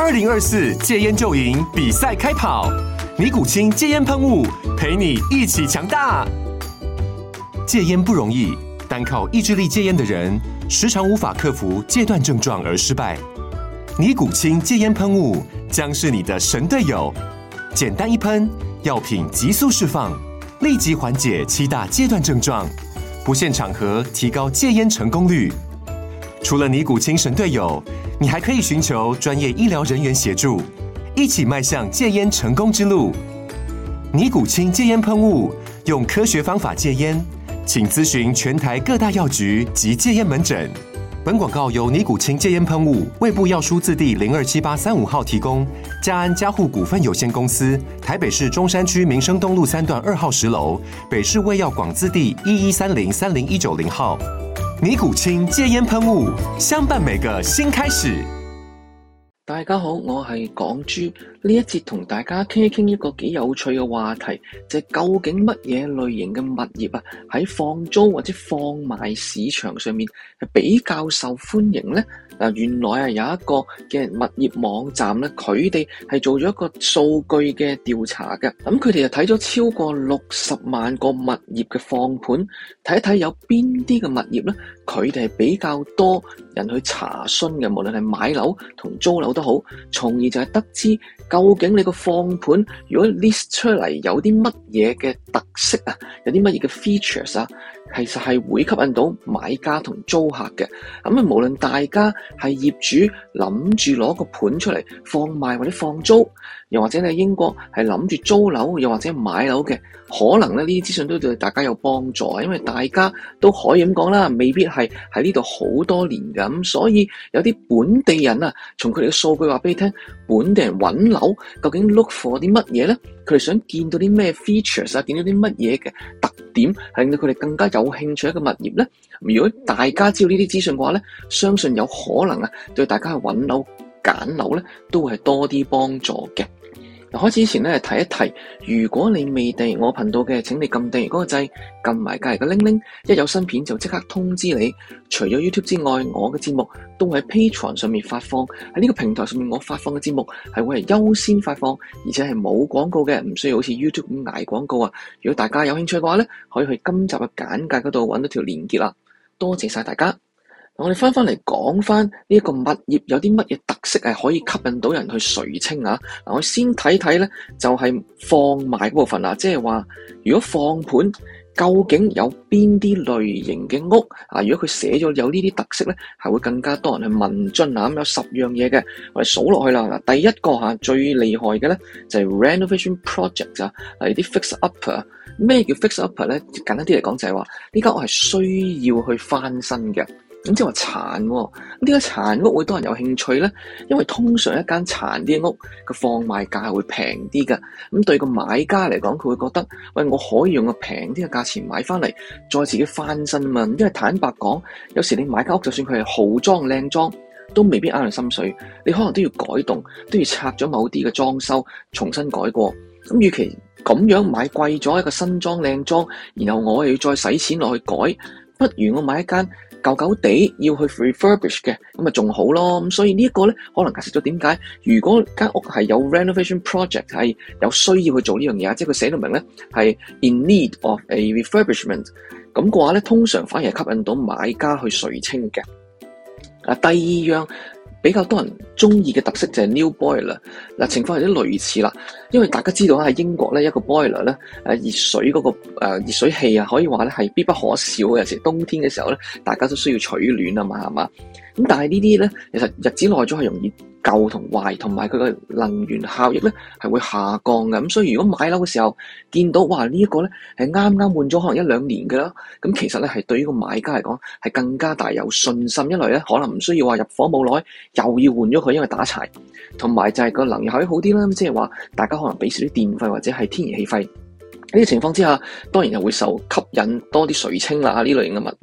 2024戒菸就贏比賽開跑，尼古清戒菸噴霧陪你一起強大。戒菸不容易，單靠意志力戒菸的人，時常無法克服戒斷症狀而失敗。尼古清戒菸噴霧將是你的神隊友，簡單一噴，藥品急速釋放，立即緩解7大戒斷症狀，不限場合提高戒菸成功率。除了尼古清神隊友，你還可以尋求專業醫療人員協助，一起邁向戒菸成功之路。尼古清戒菸噴霧，用科學方法戒菸，請諮詢全台各大藥局及戒菸門診。本廣告由尼古清戒菸噴霧衛部藥書字第027835號提供，嘉安嘉護股份有限公司台北市中山區民生東路3段2號10樓，北市衛藥廣字第1130-30190號。尼古清戒菸噴霧，相伴每個新開始。 大家好，我係港豬。呢一節同大家傾一傾一個幾有趣嘅話題，就係究竟乜嘢類型嘅物業啊，喺放租或者放賣市場上面係比較受歡迎呢？原來啊有一個嘅物業網站咧，佢哋係做咗一個數據嘅調查嘅。咁佢哋就睇咗超過60萬個物業嘅放盤，睇一睇有邊啲嘅物業咧，佢哋係比較多人去查詢嘅，無論係買樓同租樓都好，從而就係得知究竟你個放盤如果 list 出嚟有啲乜嘢嘅特色啊，有啲乜嘢嘅 features 啊，其實係會吸引到買家同租客嘅。咁啊，無論大家係業主諗住攞個盤出嚟放賣或者放租，又或者你喺英國係諗住租樓又或者買樓嘅，可能咧呢啲資訊都對大家有幫助，因為大家都可以咁講啦，未必係喺呢度好多年㗎，咁所以有啲本地人啊，從佢哋嘅數據話俾你聽，本地人揾樓究竟 look for 啲乜嘢咧？佢哋想見到啲咩 features 啊，見到啲乜嘢嘅特點係令到佢哋更加有興趣一個物業咧？如果大家知道呢啲資訊嘅話咧，相信有可能啊，對大家去揾樓揀樓咧，都會係多啲幫助嘅。開始之前咧，提一提，如果你未訂閱我頻道嘅，請你撳訂閱嗰個掣，撳埋隔籬嘅鈴鈴，一有新片就即刻通知你。除咗 YouTube 之外，我嘅節目都會喺 Patreon 上面發放，喺呢個平台上面我發放嘅節目係會係優先發放，而且係冇廣告嘅，唔需要好似 YouTube 咁捱廣告啊。如果大家有興趣嘅話咧，可以去今集嘅簡介嗰度揾到條連結啦。多謝晒大家。我哋翻嚟講翻呢一個物業有啲乜嘢特色係可以吸引到人去垂青啊？我先睇睇咧，就係放賣嗰部分啦，即係話如果放盤究竟有邊啲類型嘅屋啊？如果佢寫咗有呢啲特色咧，係會更加多人去問津啊！咁有10樣嘢嘅，我哋數落去啦。第一個最厲害嘅咧就係 renovation project 啊，例如啲 fix up。咩叫 fix up 咧？簡單啲嚟講就係話呢間屋係需要去翻新嘅。咁即係話殘喎，點解殘屋會多人有興趣咧？因為通常一間殘啲嘅屋個放賣價係會平啲㗎。咁對個買家嚟講，佢會覺得，喂，我可以用個平啲嘅價錢買翻嚟，再自己翻新嘛。因為坦白講，有時你買間屋，就算佢係豪裝靚裝，都未必啱你心水。你可能都要改動，都要拆咗某啲嘅裝修，重新改過。咁與其咁樣買貴咗一個新裝靚裝，然後我又要再使錢落去改，不如我買一間舊舊地要去 refurbish 嘅，咁咪仲好咯。咁所以呢一個咧，可能解釋咗點解如果間屋係有 renovation project 係有需要去做呢樣嘢，即係佢寫到明咧係 in need of a refurbishment， 咁嘅話咧，通常反而係吸引到買家去垂青嘅。第二樣比較多人中意嘅特色就係 new boiler。情況有啲類似啦，因為大家知道喺英國咧，一個 boiler 咧，熱水嗰個熱水器啊，可以話咧係必不可少嘅。有時冬天嘅時候咧，大家都需要取暖啊嘛，係嘛？咁但係呢啲咧，其實日子耐咗係容易舊同壞，同埋佢嘅能源效益咧係會下降嘅。咁所以如果買樓嘅時候見到哇呢一個咧係啱啱換咗可能1-2年嘅啦，咁其實咧係對於個買家嚟講係更加大有信心。一來咧可能唔需要話入伙冇耐又要換咗佢，因為打柴，同埋就係個能源效益好啲啦。即係話大家可能俾少啲電費或者係天然氣費，呢個情況之下，當然又會受吸引多啲垂青啦呢類型嘅物業。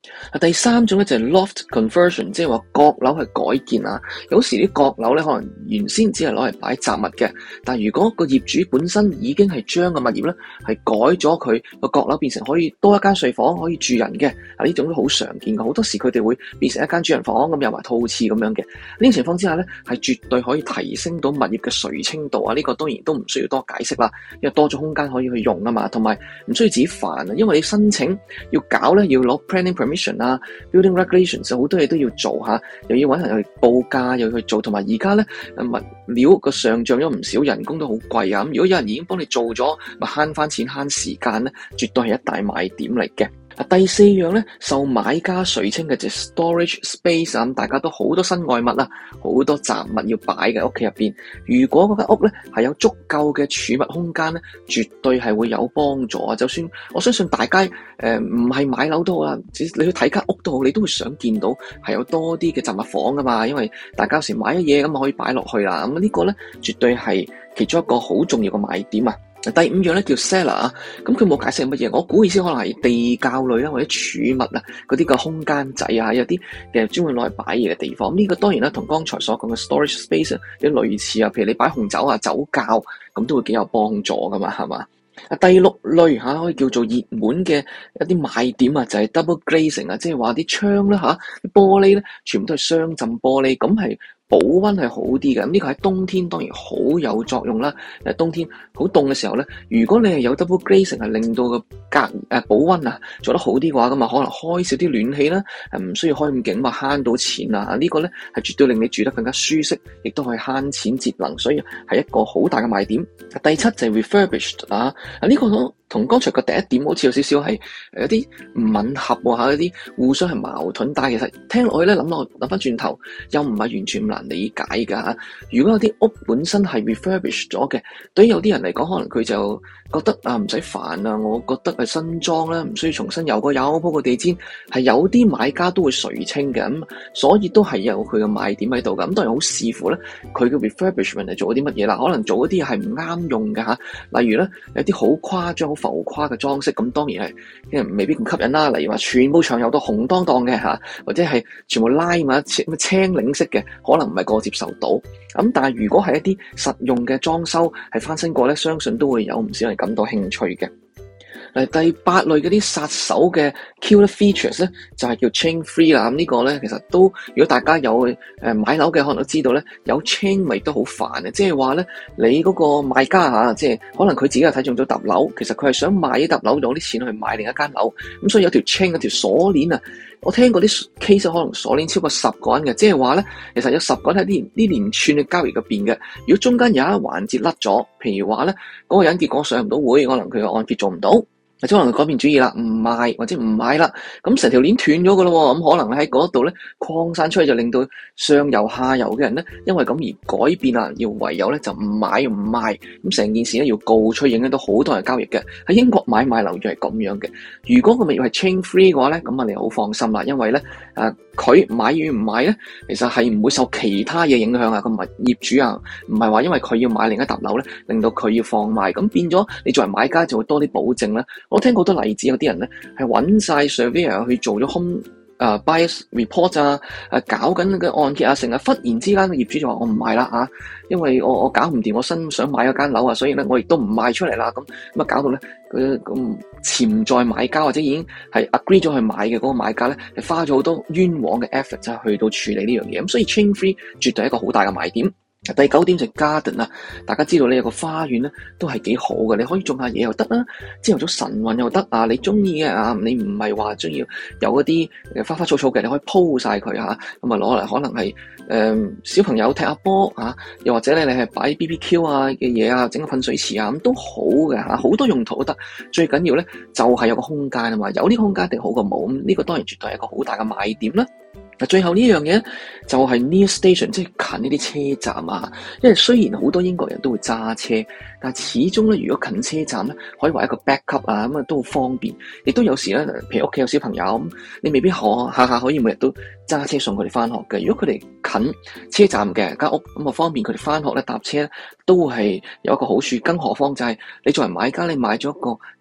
第三種咧就係 loft conversion， 即係話閣樓係改建啊。有時啲閣樓咧可能原先只係攞嚟擺雜物嘅，但係如果個業主本身已經係將個物業咧係改咗佢個閣樓變成可以多一間睡房可以住人嘅，啊呢種都好常見嘅。好多時佢哋會變成一間主人房咁，有埋套廁咁樣嘅。呢種情況之下咧係絕對可以提升到物業嘅垂青度啊！呢個當然都唔需要多解釋啦，因為多咗空間可以去用啊嘛，同埋唔需要自己煩啊，因為你申請要搞咧要攞 planning permission 啊。Building regulations 好多嘢都要做吓，又要搵人去報價，又要去做，同埋而家咧物料個上漲咗唔少，人工都好貴啊！咁如果有人已經幫你做咗，咪慳翻錢慳時間咧，絕對係一大賣點嚟嘅。第四樣咧，受買家垂青嘅就 storage space 啊，咁大家都好多身外物啊，好多雜物要擺嘅屋企入邊。如果嗰間屋咧係有足夠嘅儲物空間咧，絕對係會有幫助啊！就算我相信大家唔係買樓都好啦，你去睇間屋都好，你都會想見到係有多啲嘅雜物房噶嘛，因為大家有時買咗嘢咁可以擺落去啦。咁呢個咧絕對係其中一個好重要嘅賣點啊！第五樣咧叫 cellar 啊，咁佢冇解釋乜嘢，我估意思可能係地窖類啦，或者儲物啊嗰啲個空間仔啊，有啲嘅專門攞嚟擺嘢嘅地方。呢個當然啦，同剛才所講嘅 storage space 有啲類似啊，譬如你擺紅酒啊、酒窖咁都會幾有幫助噶嘛，係嘛？第六類可以叫做熱門嘅一啲賣點啊，就係 double glazing 啊，即係話啲窗啦啲玻璃咧全部都係雙浸玻璃，咁係保溫係好啲嘅。咁呢個喺冬天當然好有作用啦。冬天好凍嘅時候咧，如果你係有 double glazing 係令到個保溫啊做得好啲嘅話，咁啊可能開少啲暖氣啦，唔需要開咁勁嘛，慳到錢啊！呢個咧係絕對令你住得更加舒適，亦都可以慳錢節能，所以係一個好大嘅賣點。第七就係 refurbished 啊，呢個同剛才嘅第一點好似有少少係有啲唔吻合喎，有啲互相係矛盾，但係其實聽落去咧諗翻轉頭又唔係完全唔難理解㗎嚇。如果有啲屋本身係 refurbished 咗嘅，對於有啲人嚟講，可能佢就覺得唔使煩啊，我覺得係新裝啦，唔需要重新油過油鋪個地氈，係有啲買家都會垂青嘅，咁所以都係有佢嘅賣點喺度㗎。咁當然好視乎咧佢嘅 refurbishment 係做咗啲乜嘢啦，可能做嗰啲係唔啱用㗎嚇，例如咧有啲好誇張好浮誇嘅裝飾，咁當然係因為未必咁吸引啦。例如話全部牆油到紅當當嘅嚇，或者係全部拉埋青檸色嘅，可能唔係個個接受到。咁但係如果係一啲實用嘅裝修係翻新過咧，相信都會有唔少人感到興趣嘅。第八類嗰啲殺手嘅 killer features 咧，就係叫 chain free 啦。咁呢個咧其實都，如果大家有買樓嘅，可能都知道咧，有 chain 咪都好煩嘅。即係話咧，你嗰個買家即係可能佢自己又睇中咗揼樓，其實佢係想賣啲揼樓攞啲錢去買另一間樓，咁所以有條 chain 有條鎖鏈啊。我聽過啲 case 可能鎖鏈超過10個人嘅，即係話咧，其實有10個人喺呢連串嘅交易入邊嘅。如果中間有一環節甩咗，譬如話咧，嗰個人結果上唔到會，可能佢嘅按揭做唔到。或者可能佢改變主意啦，唔賣或者唔買啦，咁成條鏈斷咗㗎咯喎，咁可能喺嗰度咧擴散出去，就令到上游下游嘅人咧，因為咁而改變啦，要唯有咧就唔買唔賣，咁成件事咧要告吹，影響到好多人交易嘅。喺英國買賣樓業係咁樣嘅。如果個物業係 chain free 嘅話咧，咁啊你好放心啦，因為咧佢買與唔買咧，其實係唔會受其他嘢影響啊。個業主啊，唔係話因為佢要買另一棟樓咧，令到佢要放賣，咁變咗你作為買家就會多啲保證啦。我聽過好多例子，有啲人咧係揾晒 surveyor 去做咗 home bias report 搞緊嘅按揭成日忽然之間個業主就話我唔賣啦因為我搞唔掂，我新想買嗰間樓所以咧我亦都唔賣出嚟啦，咁搞到咧咁潛在買家或者已經係 agree 咗去買嘅嗰個買家咧，係花咗好多冤枉嘅 effort 去到處理呢樣嘢，咁所以 chain free 絕對係一個好大嘅賣點。第9點就係 garden 啦，大家知道呢有個花園咧都係幾好嘅，你可以種下嘢又得啦，朝頭早晨運又得你中意嘅你唔係話中意有嗰啲花花草草嘅，你可以鋪晒佢咁啊攞嚟可能係小朋友踢下波又或者咧你係擺 BBQ 嘅嘢整個噴水池咁都好嘅好多用途都得，最緊要咧就係有個空間啊嘛，有呢個空間一定好過冇，咁呢個當然絕對係一個好大嘅賣點啦。最後呢樣嘢就係 near station， 即係近呢啲車站因為雖然好多英國人都會揸車，但係始終咧，如果近車站咧，可以話一個 backup 咁都好方便。亦都有時咧，譬如屋企有小朋友咁，你未必下下可以每日都揸車送佢哋翻學嘅。如果佢哋近車站嘅間屋咁方便佢哋翻學咧，搭車咧都係有一個好處。更何況就係你作為買家，你買咗一個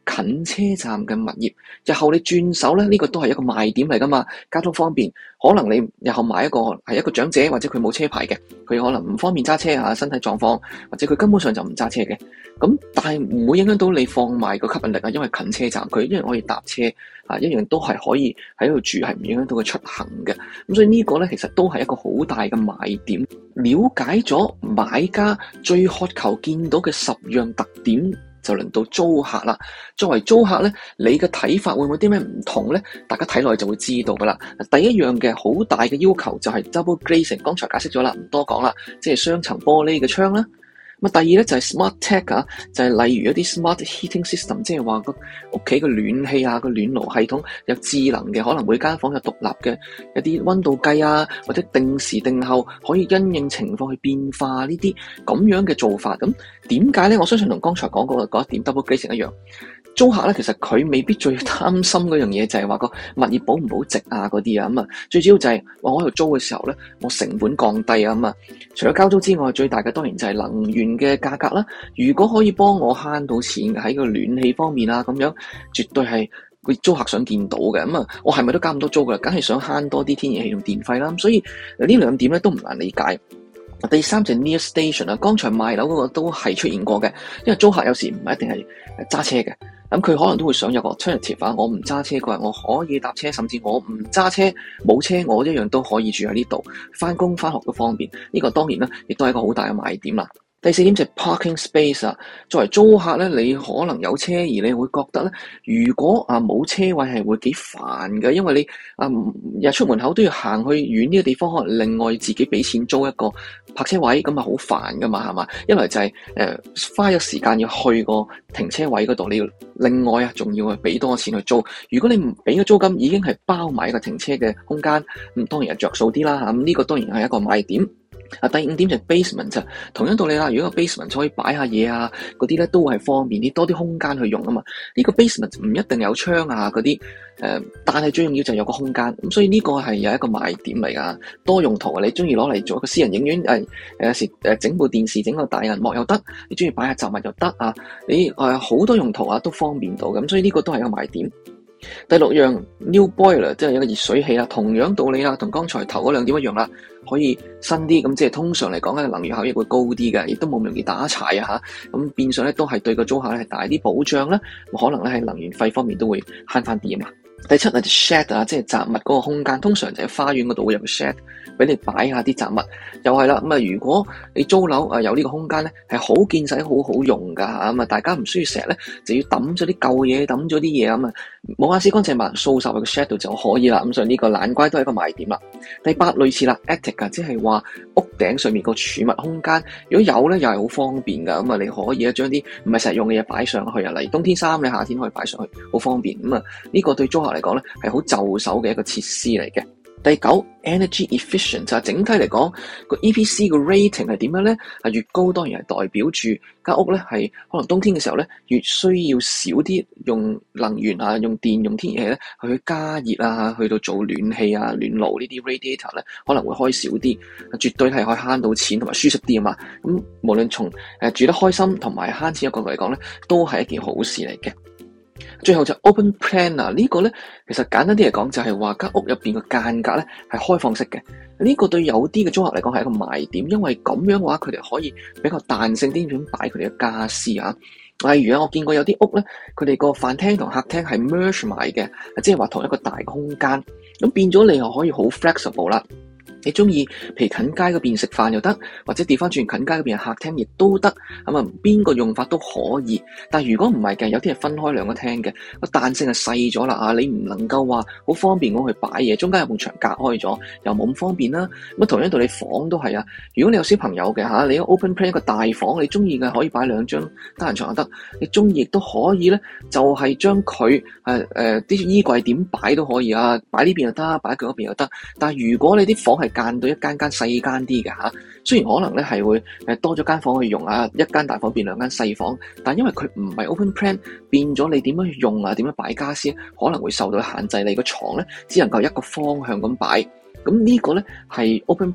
近車站嘅物業。日後你轉手咧，呢個都係一個賣點嚟噶嘛，交通方便。可能你日後買一個係一個長者或者佢冇車牌嘅，佢可能唔方便揸車啊，身體狀況或者佢根本上就唔揸車嘅。咁但係唔會影響到你放賣個吸引力啊，因為近車站佢一樣可以搭車啊，一樣都係可以喺度住，係唔影響到佢出行嘅。咁所以呢個咧其實都係一個好大嘅賣點。了解咗買家最渴求見到嘅10樣特點，就輪到租客啦。作為租客咧，你嘅睇法會唔會啲咩唔同咧？大家睇落去就會知道噶啦。第一樣嘅好大嘅要求就係 double glazing， 剛才解釋咗啦，唔多講啦，即係雙層玻璃嘅窗啦。咁第二咧就係 smart tech 啊，就係例如一啲 smart heating system， 即係話個屋企嘅暖氣啊，個暖爐系統有智能嘅，可能每間房有獨立嘅一啲溫度計啊，或者定時定候可以因應情況去變化呢啲咁樣嘅做法。咁點解咧？我相信同剛才講過嗰一點 double glazing 一樣。租客咧，其實佢未必最擔心嗰樣嘢，就係話個物業保唔保值啊嗰啲啊。咁啊，最主要就係我喺度租嘅時候咧，我成本降低啊。咁啊，除咗交租之外，最大嘅當然就係能源嘅價格啦。如果可以幫我慳到錢喺個暖氣方面啊，咁樣絕對係個租客想見到嘅。咁啊，我係咪都交咁多租噶啦？梗係想慳多啲天然氣同電費啦。咁所以呢兩點咧都唔難理解。第三就係 near station 啊，剛才賣樓嗰個都係出現過嘅，因為租客有時唔係一定係揸車嘅，咁佢可能都會想有個 alternative 啊，我唔揸車嗰日我可以搭車，甚至我唔揸車冇車我一樣都可以住喺呢度，返工返學都方便，呢個當然啦，亦都係一個好大嘅賣點啦。第四點就係 parking space 啊，作為租客咧，你可能有車而你會覺得咧，如果冇車位係會幾煩嘅，因為你日出門口都要行去遠呢個地方，可能另外自己俾錢租一個泊車位，咁啊好煩噶嘛，係嘛？一來就係花咗時間要去個停車位嗰度，你要另外仲要去俾多錢去租。如果你唔俾個租金，已經係包埋一個停車嘅空間，咁當然係着數啲啦嚇。咁呢個當然係一個賣點。第五點就係 basement 就同樣道理啦。如果個 basement 可以擺下嘢啊，嗰啲咧都係方便啲，多啲空間去用啊嘛。呢個 basement 唔一定有窗啊嗰啲，但係最重要就係有個空間。咁所以呢個係有一個賣點嚟噶，多用途啊！你中意攞嚟做一個私人影院，有時整部電視整個大銀幕又得，你中意擺下雜物又得啊！你好多用途啊，都方便到咁，所以呢個都係一個賣點。第六樣 new boiler 即係一個熱水器啦，同樣道理啦，同剛才頭嗰兩點一樣啦，可以新啲，咁即係通常嚟講咧，能源效益會高啲嘅，亦都冇咁容易打柴啊吓，咁變相咧都係對個租客咧係大啲保障啦，可能咧喺能源費方面都會慳翻啲啊嘛。第七係 shed 啊，即係雜物嗰個空間，通常就喺花園嗰度會有個 shed 俾你擺下啲雜物，又係啦。咁啊，如果你租樓有呢個空間咧，係好見使、好好用噶吓。咁啊，大家唔需要成日咧就要抌咗啲舊嘢、抌咗啲嘢咁啊，冇眼屎乾淨埋掃晒喺個 shed 度就可以啦。咁所以呢個懶乖都係一個賣點啦。第八類似啦 attic 啊，即係話屋頂上面個儲物空間，如果有咧又係好方便噶。咁啊，你可以咧將啲唔係成日用嘅嘢擺上去啊，例如冬天衫你夏天可以擺上去，好方便。咁啊，呢個對租客嚟講咧係好就手嘅一個設施嚟嘅。第九 energy efficient 就係整體嚟講個 EPC 個 rating 係點樣咧？越高當然係代表住間屋咧係可能冬天嘅時候咧越需要少啲用能源啊、用電、用天然氣咧去加熱啊，去到做暖氣啊、暖爐呢啲 radiator 咧可能會開少啲，絕對係可以慳到錢同埋舒適啲啊嘛。咁無論從住得開心同埋慳錢嘅角度嚟講咧，都係一件好事嚟嘅。最後就 open plan 啊，呢個咧其實簡單啲嚟講就係話間屋入邊嘅間隔咧係開放式嘅，呢個對有啲嘅租客嚟講係一個賣點，因為咁樣嘅話佢哋可以比較彈性啲咁擺佢哋嘅家私啊。例如我見過有啲屋咧，佢哋個飯廳同客廳係 merge 埋嘅，即係話同一個大嘅空間，咁變咗你又可以好 flexible 啦。你中意譬如近街嗰邊食飯又得，或者調翻轉近街嗰邊客廳亦都得，咁啊邊個用法都可以。但係如果唔係嘅，有啲係分開兩個廳嘅，個彈性係細咗啦啊！你唔能夠話好方便咁去擺嘢，中間有埲牆隔開咗，又冇咁方便啦。咁同樣道理房都係啊。如果你有小朋友嘅嚇，你 open plan 一個大房，你中意嘅可以擺兩張單人床又得，你中意亦都可以咧，就係將佢啲衣櫃點擺都可以啊，擺呢邊又得，擺嗰邊又得。但係如果你啲房係間到一間間細間啲嘅嚇，雖然可能咧係會多咗間房去用啊，一間大房變兩間細房，但因為佢唔係 open plan，變咗你點樣去用啊，點樣擺家私可能會受到限制，你個床咧只能夠一個方向咁擺。咁呢個咧係 open plan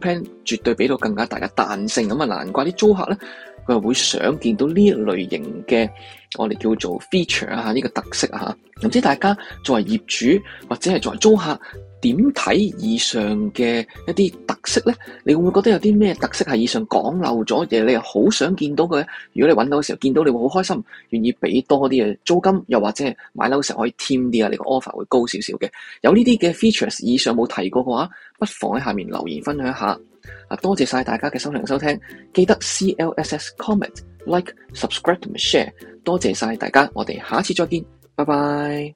絕對俾到更加大嘅彈性。咁啊，難怪啲租客咧，佢係會想見到呢一類型嘅我哋叫做 feature 啊，呢個特色啊。唔知大家作為業主或者係作為租客，點睇以上嘅一啲特色咧？你會唔會覺得有啲咩特色係以上講漏咗嘅？你又好想見到佢？如果你揾到嘅時候見到，你會好開心，願意俾多啲嘅租金，又或者係買樓嘅時候可以添啲啊，你個 offer 會高少少嘅。有呢啲嘅 features 以上冇提過嘅話，不妨喺下面留言分享一下。多謝晒大家嘅收聽收聽，記得 CLSS comment like subscribe 同埋 share。多謝晒大家，我哋下次再見，拜拜。